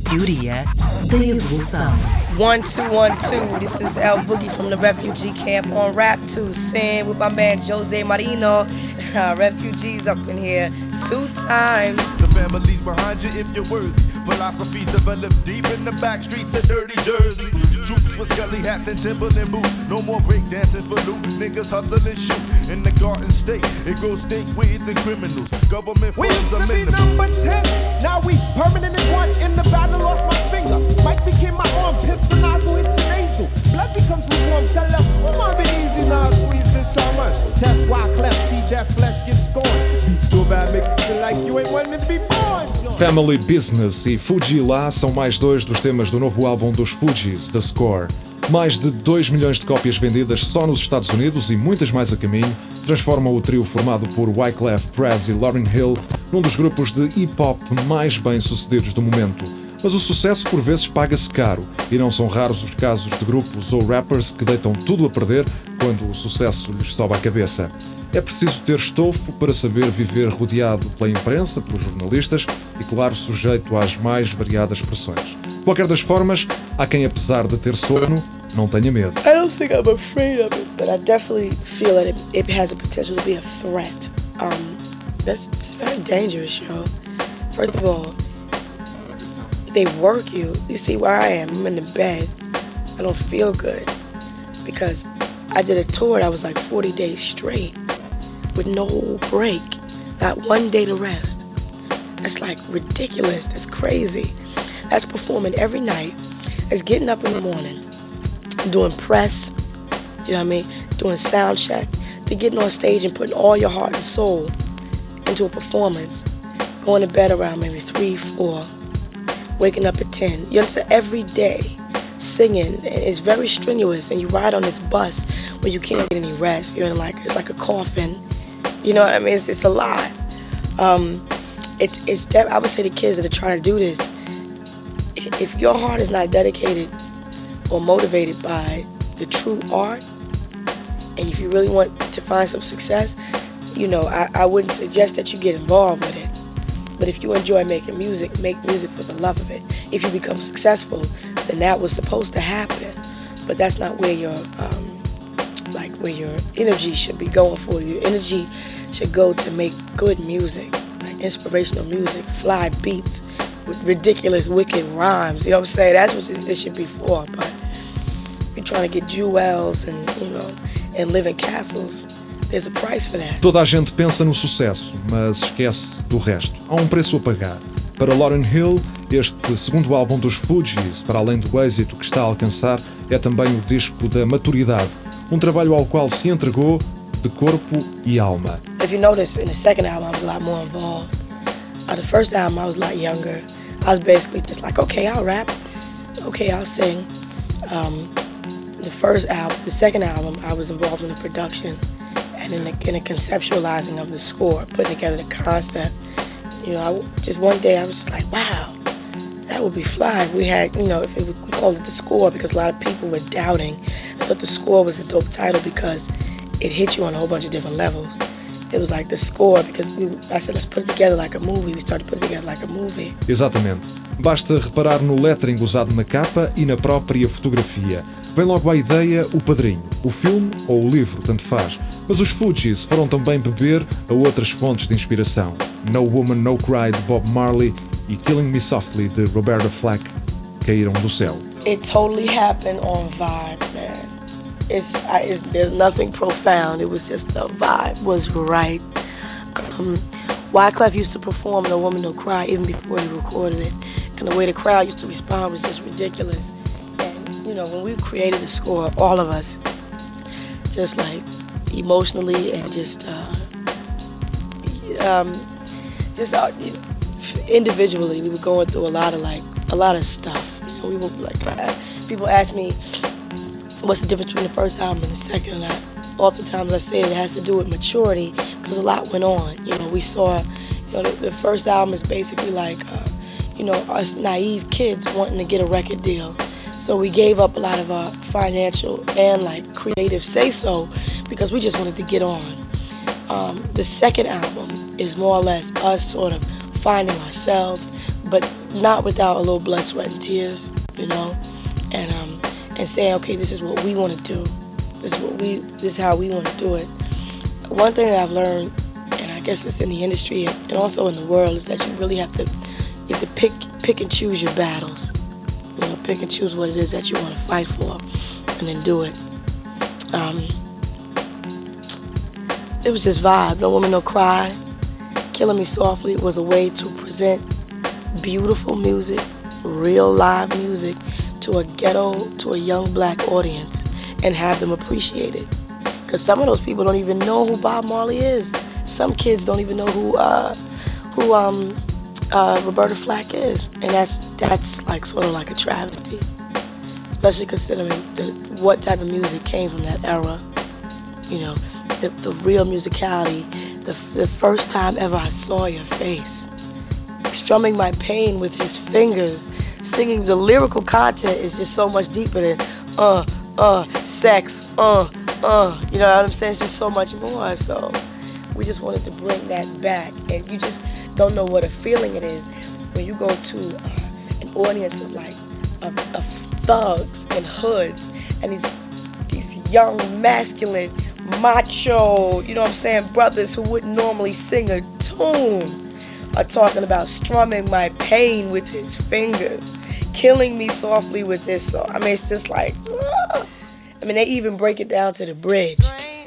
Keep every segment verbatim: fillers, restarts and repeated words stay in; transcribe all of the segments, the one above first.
teoria da evolução. One, two, one, two. This is El Boogie from the refugee camp on Rap two. Sing with my man Jose Marino. Refugees up in here two times. The family's behind you if you're worthy. Philosophies developed deep in the back streets of dirty Jersey. Troops with scully hats and Timberland boots. No more breakdancing for loot. Niggas hustle and shoot. In the Garden State, it grows stink weeds and criminals. Government we funds used are to be minimal. number ten. Now we permanent in one. In the battle, lost my finger. Mike became my arm. Pistol nozzle hits your nasal. Blood becomes lukewarm. Tell them, oh, my be easy now. Squeeze this shaman. Test why cleft. See that flesh get scorned. Beat so bad, make you feel like you ain't wanting to be born. Family Business e Fuji La são mais dois dos temas do novo álbum dos Fugees, The Score. Mais de dois milhões de cópias vendidas só nos Estados Unidos e muitas mais a caminho transformam o trio formado por Wyclef, Prez e Lauryn Hill num dos grupos de hip-hop mais bem-sucedidos do momento. Mas o sucesso por vezes paga-se caro e não são raros os casos de grupos ou rappers que deitam tudo a perder quando o sucesso lhes sobe à cabeça. É preciso ter estofo para saber viver rodeado pela imprensa, pelos jornalistas e, claro, sujeito às mais variadas pressões. De qualquer das formas, há quem, apesar de ter sono, não tenha medo. I don't think I'm afraid of it, but I definitely feel that it, it has the potential to be a threat. Um, that's it's very dangerous, yo. First of all, they work you. You see where I am. I'm in the bed. I don't feel good because I did a tour that was like forty days straight with no break, not one day to rest. That's like ridiculous. That's crazy. That's performing every night. That's getting up in the morning, doing press, you know what I mean, doing sound check, to getting on stage and putting all your heart and soul into a performance, going to bed around maybe three, four, waking up at ten. You understand? Every day, singing. It's very strenuous, and you ride on this bus where you can't get any rest. You're in like, it's like a coffin. You know what I mean? It's, it's a lot. Um, it's, it's, I would say to kids that are trying to do this, if your heart is not dedicated or motivated by the true art, and if you really want to find some success, you know, I, I wouldn't suggest that you get involved with it. But if you enjoy making music, make music for the love of it. If you become successful, then that was supposed to happen. But that's not where your, um, like, where your energy should be going for. Your energy should go to make good music, like inspirational music, fly beats with ridiculous, wicked rhymes. You know what I'm saying? That's what it should be for. But you're trying to get jewels and, you know, and live in castles. There's a price for that. Toda a gente pensa no sucesso, mas esquece do resto. Há um preço a pagar. Para Lauryn Hill, este segundo álbum dos Fugees, para além do êxito que está a alcançar, é também o disco da maturidade. Um trabalho ao qual se entregou de corpo e alma. If you notice, in the second album, I was a lot more involved. Uh, the first album, I was a lot younger. I was basically just like, okay, I'll rap. Okay, I'll sing. Um, the first album, the second album, I was involved in the production and in the, in the conceptualizing of the score, putting together the concept. You know, I, just one day I was just like, wow, that would be fly. We had, you know, if it, we called it the score because a lot of people were doubting. I thought the score was a dope title because it hit you on a whole bunch of different levels. It was like the score because we, I said, let's put it together like a movie. We started putting it together like a movie. Exatamente. Basta reparar no lettering usado na capa e na própria fotografia. Vem logo à ideia o padrinho, o filme ou o livro, tanto faz. Mas os Fugees foram também beber a outras fontes de inspiração. No Woman, No Cry, de Bob Marley e Killing Me Softly, de Roberta Flack, caíram do céu. It totally happened on vibe, man. It's, I, it's there's nothing profound. It was just the vibe was right. Um, Wyclef used to perform No Woman, No Cry even before he recorded it. And the way the crowd used to respond was just ridiculous. And, you know, when we created the score, all of us, just like emotionally and just, uh, um, just uh, individually, we were going through a lot of like, a lot of stuff. You know, we were like, people ask me, what's the difference between the first album and the second? And I, oftentimes I say that it has to do with maturity because a lot went on. You know, we saw, you know, the, the first album is basically like, uh, you know, us naive kids wanting to get a record deal. So we gave up a lot of our financial and like creative say-so because we just wanted to get on. Um, the second album is more or less us sort of finding ourselves, but not without a little blood, sweat, and tears, you know, and um, and saying, okay, this is what we want to do. This is what we. This is how we want to do it. One thing that I've learned, and I guess it's in the industry and also in the world, is that you really have to you have to pick pick and choose your battles. You know, pick and choose what it is that you want to fight for, and then do it. Um, it was just vibe. No Woman, No Cry. Killing Me Softly was a way to present beautiful music, real live music, to a ghetto, to a young black audience, and have them appreciate it. Because some of those people don't even know who Bob Marley is. Some kids don't even know who uh, who um, uh, Roberta Flack is, and that's that's like sort of like a travesty, especially considering the, what type of music came from that era. You know, the, the real musicality. The, the first time ever I saw Your Face, strumming my pain with his fingers, singing. The lyrical content is just so much deeper than uh, uh, sex, uh, uh, you know what I'm saying? It's just so much more. So we just wanted to bring that back, and you just don't know what a feeling it is when you go to uh, an audience of like of, of thugs and hoods and these these young masculine macho, you know what I'm saying, brothers who wouldn't normally sing a tune are talking about strumming my pain with his fingers, killing me softly with this song. I mean, it's just like, uh, I mean, they even break it down to the bridge.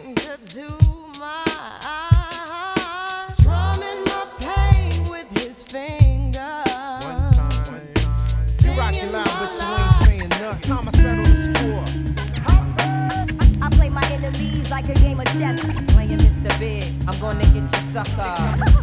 Like a game of chess. Playing Mister Big, I'm gonna get you sucker.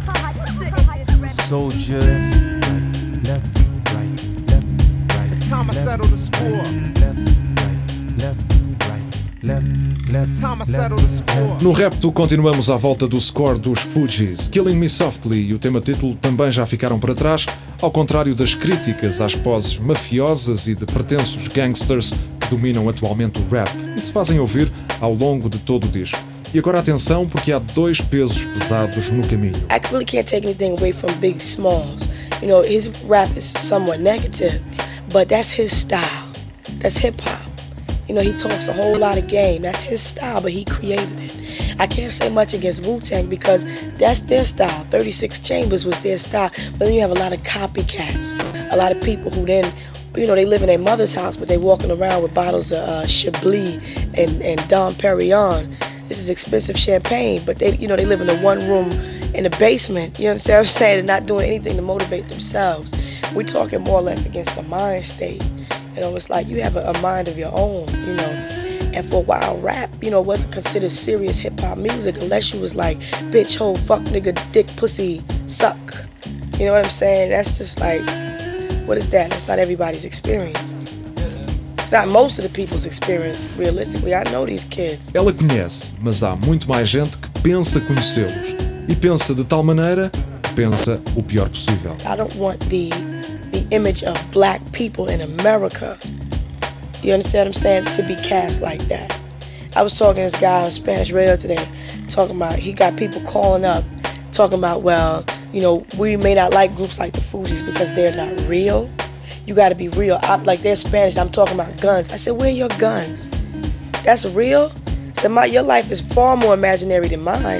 Soldiers, right, left, right, left, right. It's time I settle the score. Left, right, left, right, left, left. It's time I settle the score. No Repto continuamos à volta do score dos Fugees. Killing Me Softly e o tema título também já ficaram para trás, ao contrário das críticas às poses mafiosas e de pretensos gangsters que dominam atualmente o rap e se fazem ouvir ao longo de todo o disco. E agora atenção, porque há dois pesos pesados no caminho. I really can't take anything away from Biggie Smalls. You know, his rap is somewhat negative, but that's his style. That's hip hop. You know, he talks a whole lot of game. That's his style, but he created it. I can't say much against Wu-Tang because that's their style. thirty-six Chambers was their style. But then you have a lot of copycats. A lot of people who then, you know, they live in their mother's house, but they walking around with bottles of uh, Chablis and, and Dom Perignon. This is expensive champagne, but they, you know, they live in a one room in the basement. You understand what I'm saying? They're not doing anything to motivate themselves. We're talking more or less against the mind state. You know, it's like you have a, a mind of your own, you know. And for a while, rap, you know, wasn't considered serious hip-hop music unless you was like, bitch, hoe, fuck, nigga, dick, pussy, suck. You know what I'm saying? That's just like, what is that? That's not everybody's experience. It's not most of the people's experience, realistically. I know these kids. Ela conhece, mas há muito mais gente que pensa conhecê-los. E pensa de tal maneira que pensa o pior possível. I don't want the, the image of black people in America, you understand what I'm saying, to be cast like that. I was talking to this guy on Spanish radio today, talking about, he got people calling up, talking about, well, you know, we may not like groups like the Fugees because they're not real. You gotta be real. I'm, like, they're Spanish, I'm talking about guns. I said, where are your guns? That's real? I said, my, your life is far more imaginary than mine.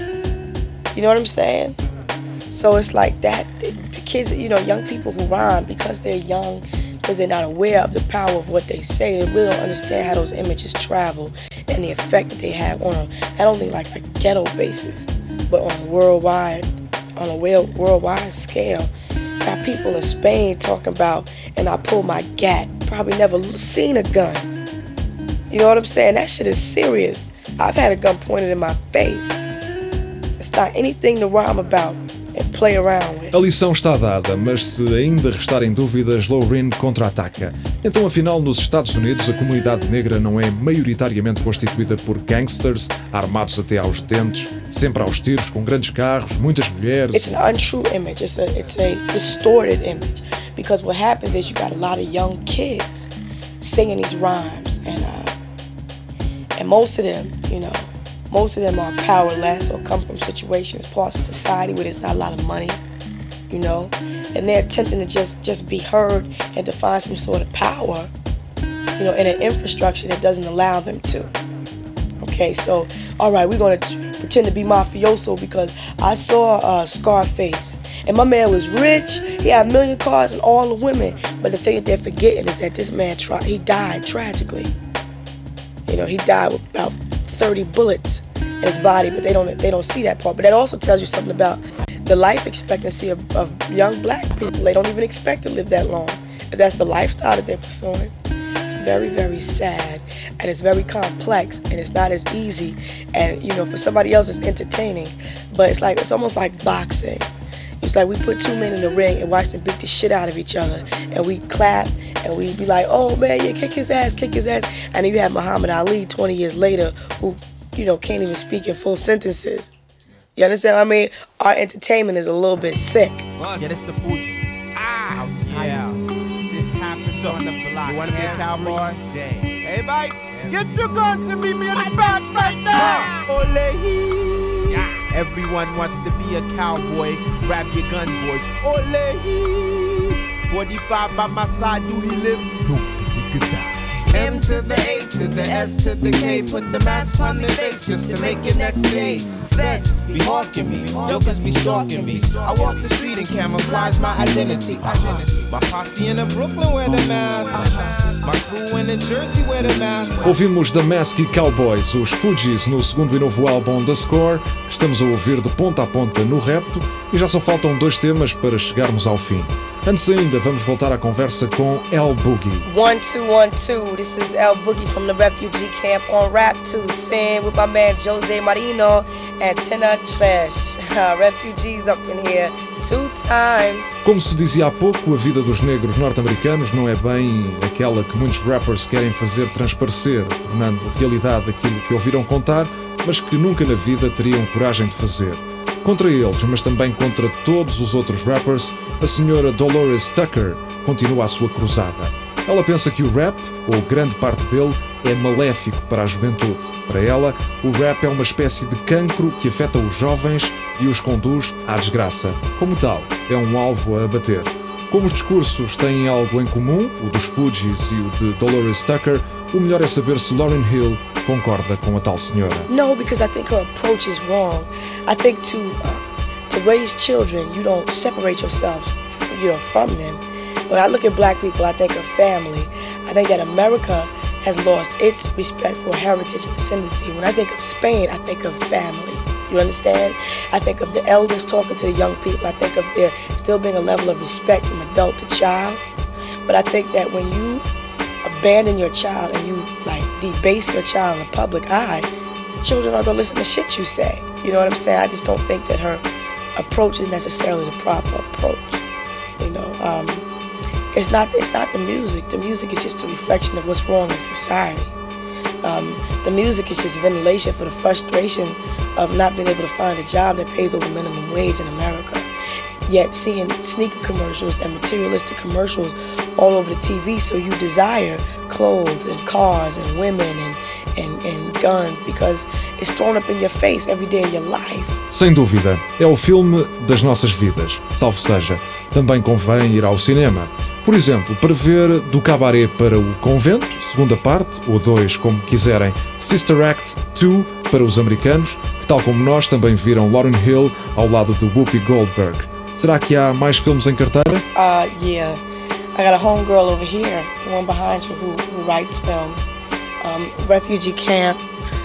You know what I'm saying? So it's like that. The kids, you know, young people who rhyme, because they're young, because they're not aware of the power of what they say, they really don't understand how those images travel and the effect that they have on a, not only like a ghetto basis, but on a worldwide, on a worldwide scale. Got people in Spain talking about, and I pull my gat, probably never seen a gun. You know what I'm saying? That shit is serious. I've had a gun pointed in my face. It's not anything to rhyme about and play around with. A lição está dada, mas se ainda restarem dúvidas, Loreen contra-ataca. Então, afinal, nos Estados Unidos, a comunidade negra não é maioritariamente constituída por gangsters, armados até aos dentes, sempre aos tiros, com grandes carros, muitas mulheres. It's an untrue image. It's a, it's a distorted image. Because what happens is you got a lot of young kids singing these rhymes, and uh, and most of them, you know, most of them are powerless or come from situations, parts of society where there's not a lot of money. You you know, and they're attempting to just, just be heard and to find some sort of power, you know, in an infrastructure that doesn't allow them to. Okay, so, all right, we're gonna t- pretend to be mafioso because I saw uh, Scarface, and my man was rich, he had a million cars and all the women, but the thing that they're forgetting is that this man, tra- he died tragically. You know, he died with about thirty bullets in his body, but they don't they don't see that part. But that also tells you something about the life expectancy of, of young black people. They don't even expect to live that long. If that's the lifestyle that they're pursuing, it's very, very sad, and it's very complex, and it's not as easy. And you know, for somebody else, it's entertaining, but it's like it's almost like boxing. It's like we put two men in the ring and watch them beat the shit out of each other, and we clap and we be like, "Oh man, yeah, kick his ass, kick his ass." And then you have Muhammad Ali twenty years later, who, you know, can't even speak in full sentences. You understand what I mean? Our entertainment is a little bit sick. Yeah, that's the Fugees. Ah, yeah. This happens so, on the block. You wanna be a cowboy? Day. Hey, Mike, get your guns and meet me in the back right now. Ole. Yeah. Everyone wants to be a cowboy. Grab your gun, boys. Ole. forty-five by my side, do he live? No, get the die. M to the A to the S to the K. Put the mask on their face just to make it next day. Feds be hawking me, jokers be stalking me. I walk the street and camouflage my identity. My posse in the Brooklyn wear the mask. My crew in the Jersey wear the mask. Ouvimos The Mask e Cowboys, os Fugees, no segundo e novo álbum The Score, que estamos a ouvir de ponta a ponta no Repto, e já só faltam dois temas para chegarmos ao fim. Antes ainda, vamos voltar à conversa com El Boogie. One, two, one, two. This is El Boogie from the refugee camp on Rap two, sing with my man Jose Marino and Tina Trash. Refugees up in here two times. Como se dizia há pouco, a vida dos negros norte-americanos não é bem aquela que muitos rappers querem fazer transparecer, tornando realidade aquilo que ouviram contar, mas que nunca na vida teriam coragem de fazer. Contra eles, mas também contra todos os outros rappers, a senhora Dolores Tucker continua a sua cruzada. Ela pensa que o rap, ou grande parte dele, é maléfico para a juventude. Para ela, o rap é uma espécie de cancro que afeta os jovens e os conduz à desgraça. Como tal, é um alvo a abater. Como os discursos têm algo em comum, o dos Fugees e o de Dolores Tucker, o melhor é saber se Lauryn Hill concorda com a tal senhora. No, because I think her approach is wrong. I think to uh, to raise children, you don't separate yourself, you know, from them. When I look at black people, I think of family. I think that America has lost its respect for heritage and ascendancy. When I think of Spain, I think of family. You understand? I think of the elders talking to the young people. I think of there still being a level of respect from adult to child. But I think that when you abandon your child and you like debase your child in the public eye, children are gonna listen to shit you say. You know what I'm saying? I just don't think that her approach is necessarily the proper approach. You know, um, it's not it's not the music. The music is just a reflection of what's wrong in society. Um, the music is just ventilation for the frustration of not being able to find a job that pays over minimum wage in America. Yet seeing sneaker commercials and materialistic commercials all over the T V, so you desire clothes and cars and women and, and, and guns because it's thrown up in your face every day of your life. Sem dúvida, é o filme das nossas vidas, salvo seja. Também convém ir ao cinema. Por exemplo, para ver Do Cabaré para o Convento, segunda parte, ou dois, como quiserem, Sister Act dois para os americanos, que tal como nós também viram Lauryn Hill ao lado de Whoopi Goldberg. Será que há mais filmes em carteira? Uh, yeah. I got a homegirl over here, the one behind you, who, who writes films. Um, refugee camp.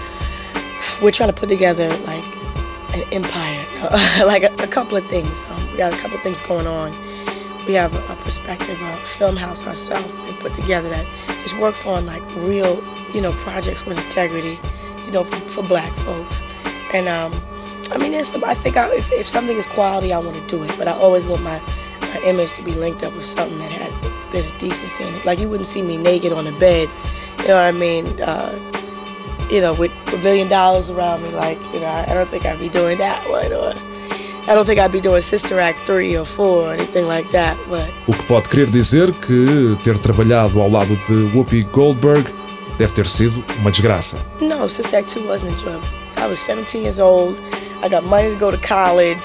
We're trying to put together like an empire, like a, a couple of things. Um, we got a couple of things going on. We have a, a prospective uh, film house ourselves we put together that just works on like real, you know, projects with integrity, you know, for, for black folks. And um, I mean, there's some, I think I, if, if something is quality, I want to do it. But I always want my, my image to be linked up with something that had a bit of decency in it. Like you wouldn't see me naked on the bed, you know what I mean? Uh, you know, with a million dollars around me, like, you know, I, I don't think I'd be doing that one. Or I don't think I'd be doing Sister Act three or four or anything like that. But o que pode querer dizer que ter trabalhado ao lado de Whoopi Goldberg deve ter sido uma desgraça. No, Sister Act two wasn't enjoyable. I was seventeen years old. I got money to go to college.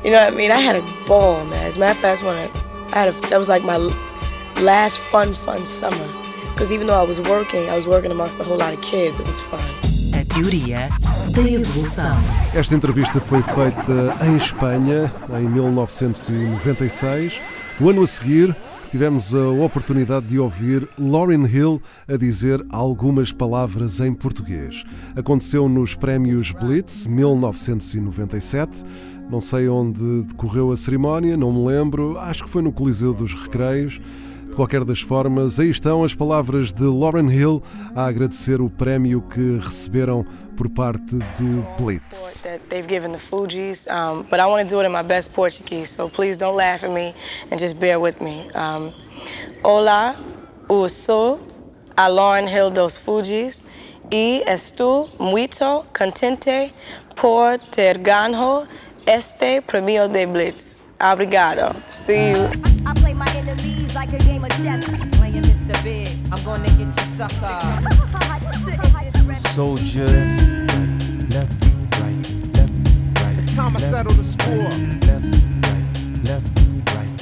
You know what I mean? I had a ball, man. As a matter of fact, when I, I had a, that was like my last fun, fun summer. Because even though I was working, I was working amongst a whole lot of kids. It was fun. A teoria da evolução. Esta entrevista foi feita em Espanha em mil novecentos e noventa e seis. O ano a seguir, tivemos a oportunidade de ouvir Lauryn Hill a dizer algumas palavras em português. Aconteceu nos prémios Blitz, mil novecentos e noventa e sete. Não sei onde decorreu a cerimónia, não me lembro. Acho que foi no Coliseu dos Recreios. De qualquer das formas, aí estão as palavras de Lauryn Hill a agradecer o prémio que receberam por parte do Blitz. They've given the Fugees, um, but I want to do it in my best Portuguese, so please don't laugh at me and just bear with me. Um, Olá, eu sou a Lauryn Hill dos Fugees e estou muito contente por ter ganho este prêmio de Blitz. Obrigado. See you. I play my enemies like a game of chess. Playing Mister Big, I'm gonna get you sucker. Soldiers, right, left, right, left, right. It's time I settle the score. Left, right, left, right.